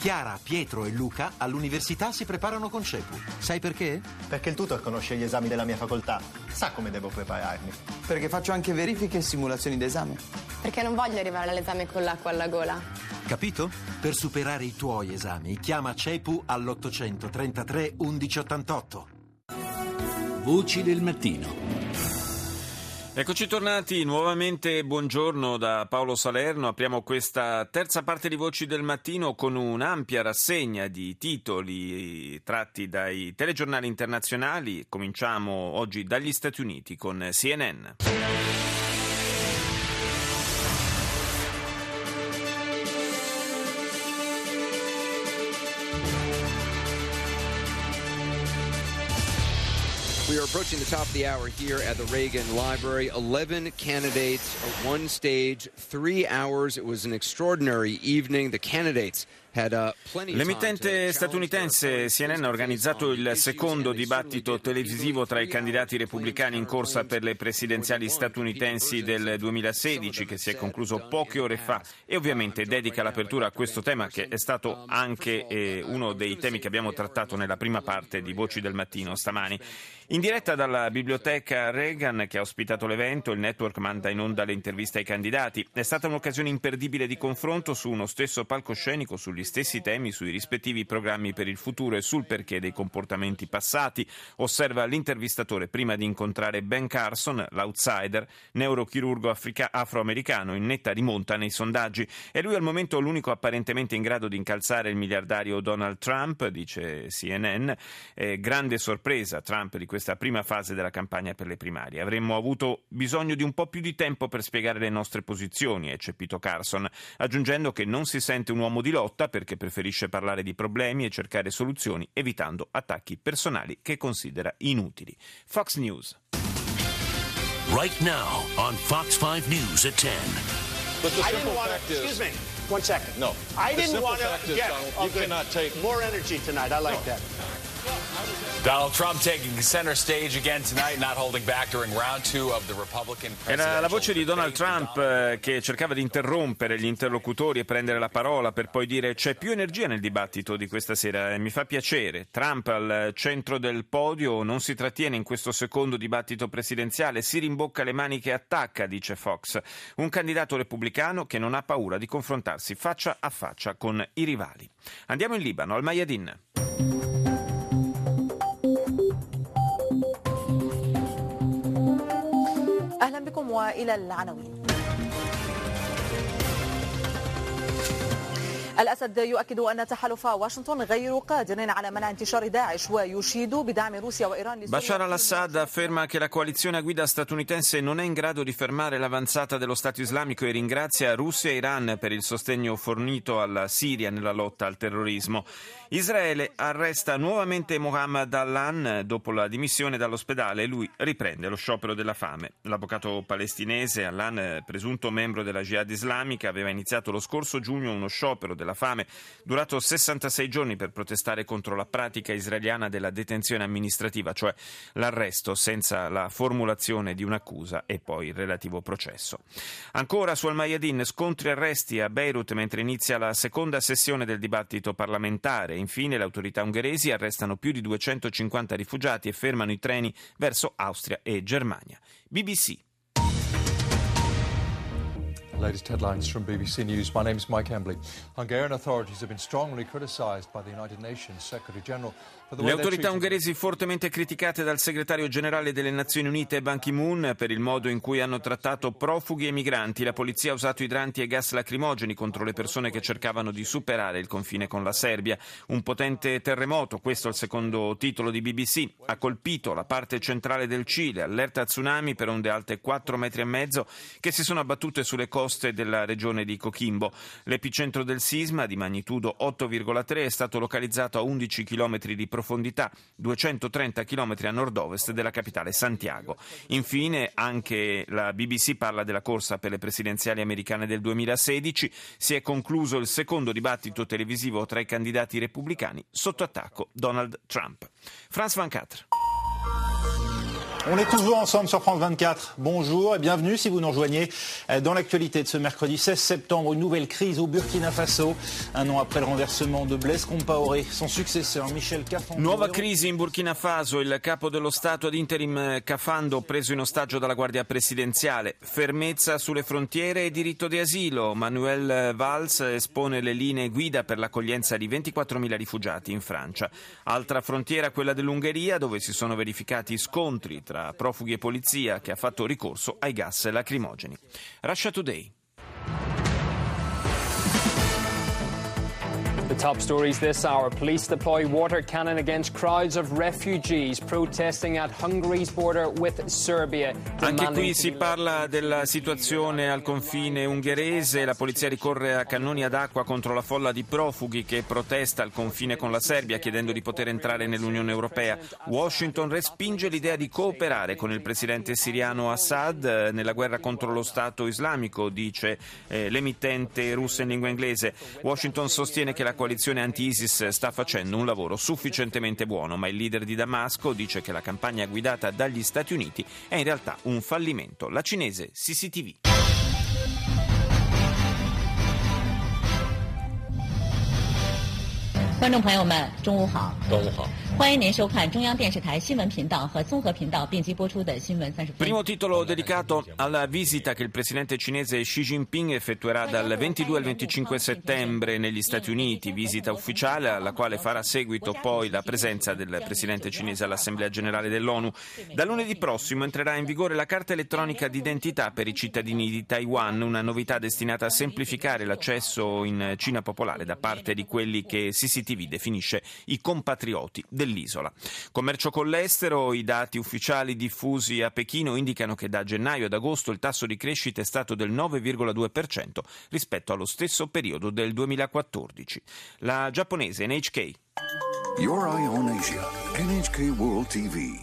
Chiara, Pietro e Luca all'università si preparano con CEPU. Sai perché? Perché il tutor conosce gli esami della mia facoltà, sa come devo prepararmi. Perché faccio anche verifiche e simulazioni d'esame. Perché non voglio arrivare all'esame con l'acqua alla gola. Capito? Per superare i tuoi esami, chiama CEPU all'833 1188. Voci del mattino. Eccoci tornati nuovamente, buongiorno da Paolo Salerno. Apriamo questa terza parte di Voci del Mattino con un'ampia rassegna di titoli tratti dai telegiornali internazionali. Cominciamo oggi dagli Stati Uniti con CNN. We are approaching the top of the hour here at the Reagan Library. 11 candidates, one stage, 3 hours. It was an extraordinary evening. The candidates L'emittente statunitense CNN ha organizzato il secondo dibattito televisivo tra i candidati repubblicani in corsa per le presidenziali statunitensi del 2016, che si è concluso poche ore fa, e ovviamente dedica l'apertura a questo tema, che è stato anche uno dei temi che abbiamo trattato nella prima parte di Voci del Mattino stamani. In diretta dalla biblioteca Reagan, che ha ospitato l'evento, il network manda in onda le interviste ai candidati. È stata un'occasione imperdibile di confronto su uno stesso palcoscenico, sugli stessi temi, sui rispettivi programmi per il futuro e sul perché dei comportamenti passati, osserva l'intervistatore prima di incontrare Ben Carson, l'outsider, neurochirurgo afroamericano in netta rimonta nei sondaggi. È lui al momento l'unico apparentemente in grado di incalzare il miliardario Donald Trump, dice CNN. Grande sorpresa Trump di questa prima fase della campagna per le primarie. Avremmo avuto bisogno di un po' più di tempo per spiegare le nostre posizioni, ha eccepito Carson, aggiungendo che non si sente un uomo di lotta perché preferisce parlare di problemi e cercare soluzioni, evitando attacchi personali che considera inutili. Fox News. Right now on Fox 5 News at 10. Excuse me, 1 second. No. I didn't want to get more energy tonight. I like that. Donald Trump taking center stage again tonight, not holding back during round 2 of the Republican presidential. Era la voce di Donald Trump che cercava di interrompere gli interlocutori e prendere la parola per poi dire: c'è più energia nel dibattito di questa sera e mi fa piacere. Trump al centro del podio non si trattiene in questo secondo dibattito presidenziale, si rimbocca le maniche e attacca, dice Fox. Un candidato repubblicano che non ha paura di confrontarsi faccia a faccia con i rivali. Andiamo in Libano, al Mayadin. أهلا بكم وإلى العناوين. الأسد يؤكد أن تحالف واشنطن غير قادر على منع انتشار داعش ويشيد بدعم روسيا وإيران. Bashar al-Assad afferma che la coalizione a guida statunitense non è in grado di fermare l'avanzata dello Stato islamico e ringrazia Russia e Iran per il sostegno fornito alla Siria nella lotta al terrorismo. Israele arresta nuovamente Mohammed Allan dopo la dimissione dall'ospedale e lui riprende lo sciopero della fame. L'avvocato palestinese Allan, presunto membro della Jihad islamica, aveva iniziato lo scorso giugno uno sciopero della fame durato 66 giorni per protestare contro la pratica israeliana della detenzione amministrativa, cioè l'arresto senza la formulazione di un'accusa e poi il relativo processo. Ancora su Al-Mayadin, scontri e arresti a Beirut mentre inizia la seconda sessione del dibattito parlamentare. Infine le autorità ungheresi arrestano più di 250 rifugiati e fermano i treni verso Austria e Germania. BBC. Latest headlines from BBC News. My name is Mike Embley. Hungarian authorities have been strongly criticised by the United Nations Secretary General. Le autorità ungheresi fortemente criticate dal segretario generale delle Nazioni Unite Ban Ki-moon per il modo in cui hanno trattato profughi e migranti. La polizia ha usato idranti e gas lacrimogeni contro le persone che cercavano di superare il confine con la Serbia. Un potente terremoto, questo è il secondo titolo di BBC, ha colpito la parte centrale del Cile, allerta tsunami per onde alte 4,5 metri che si sono abbattute sulle coste della regione di Coquimbo. L'epicentro del sisma, di magnitudo 8,3, è stato localizzato a 11 km di profondità, 230 km a nord-ovest della capitale Santiago. Infine, anche la BBC parla della corsa per le presidenziali americane del 2016. Si è concluso il secondo dibattito televisivo tra i candidati repubblicani, sotto attacco Donald Trump. France 24. On est toujours ensemble sur France 24. Bonjour et bienvenue si vous nous rejoignez dans l'actualité de ce mercredi 16 septembre. Une nouvelle crise au Burkina Faso. Un an après le renversement de Blaise Compaoré, son successeur Michel Kafando. Nuova crisi in Burkina Faso. Il capo dello Stato ad interim Kafando preso in ostaggio dalla Guardia Presidenziale. Fermezza sulle frontiere e diritto di asilo. Manuel Valls espone le linee guida per l'accoglienza di 24.000 rifugiati in Francia. Altra frontiera, quella dell'Ungheria, dove si sono verificati scontri tra profughi e polizia che ha fatto ricorso ai gas lacrimogeni. Russia Today. The top stories this hour. Police deploy water cannon against crowds of refugees protesting at Hungary's border with Serbia. Anche qui si parla della situazione al confine ungherese. La polizia ricorre a cannoni ad acqua contro la folla di profughi che protesta al confine con la Serbia chiedendo di poter entrare nell'Unione Europea. Washington respinge l'idea di cooperare con il presidente siriano Assad nella guerra contro lo Stato islamico, dice l'emittente russa in lingua inglese. Washington sostiene che la coalizione anti-ISIS sta facendo un lavoro sufficientemente buono, ma il leader di Damasco dice che la campagna guidata dagli Stati Uniti è in realtà un fallimento. La cinese CCTV. 观众朋友们，中午好！中午好！欢迎您收看中央电视台新闻频道和综合频道并机播出的新闻30分。 Primo titolo dedicato alla visita che il presidente cinese Xi Jinping effettuerà dal 22 al 25 settembre negli Stati Uniti, visita ufficiale alla quale farà seguito poi la presenza del presidente cinese all'Assemblea Generale dell'ONU. Da lunedì prossimo entrerà in vigore la carta elettronica d'identità per i cittadini di Taiwan, una novità destinata a semplificare l'accesso in Cina popolare da parte di quelli che CCTV definisce i compatrioti dell'isola. Commercio con l'estero, i dati ufficiali diffusi a Pechino indicano che da gennaio ad agosto il tasso di crescita è stato del 9,2% rispetto allo stesso periodo del 2014. La giapponese NHK. Your Eye on Asia, NHK World TV.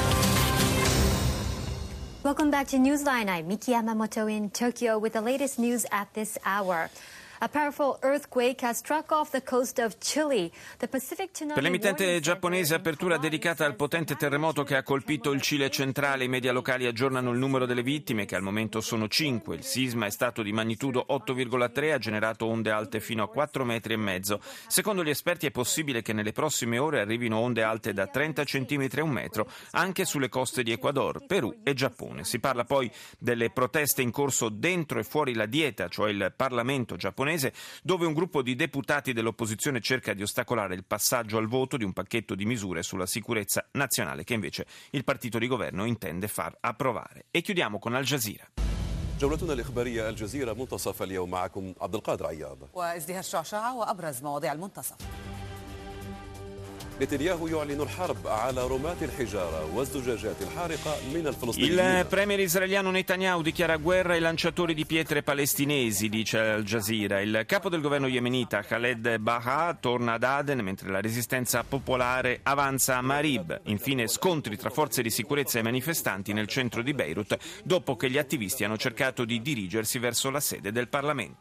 Welcome back to Newsline. I'm Miki Yamamoto in Tokyo with the latest news at this hour. A powerful earthquake has struck off the coast of Chile. The Pacific Tsunami. Per l'emittente giapponese, apertura dedicata al potente terremoto che ha colpito il Cile centrale. I media locali aggiornano il numero delle vittime, che al momento sono 5. Il sisma è stato di magnitudo 8,3, ha generato onde alte fino a 4,5 metri. Secondo gli esperti è possibile che nelle prossime ore arrivino onde alte da 30 centimetri a 1 metro anche sulle coste di Ecuador, Perù e Giappone. Si parla poi delle proteste in corso dentro e fuori la dieta, cioè il Parlamento giapponese, dove un gruppo di deputati dell'opposizione cerca di ostacolare il passaggio al voto di un pacchetto di misure sulla sicurezza nazionale che invece il partito di governo intende far approvare. E chiudiamo con Al Jazeera. جولتنا الإخبارية الجزيرة منتصف اليوم معكم عبد القادر عياض وازدهار شعشعة وأبرز مواضيع المنتصف. نتنياهو يعلن الحرب على رماة الحجارة والزجاجات الحارقة من الفلسطينيين. Il premier israeliano Netanyahu dichiara guerra ai lanciatori di pietre palestinesi, dice Al Jazeera. Il capo del governo yemenita Khaled Baha torna ad Aden mentre la resistenza popolare avanza a Marib. Infine scontri tra forze di sicurezza e manifestanti nel centro di Beirut dopo che gli attivisti hanno cercato di dirigersi verso la sede del Parlamento.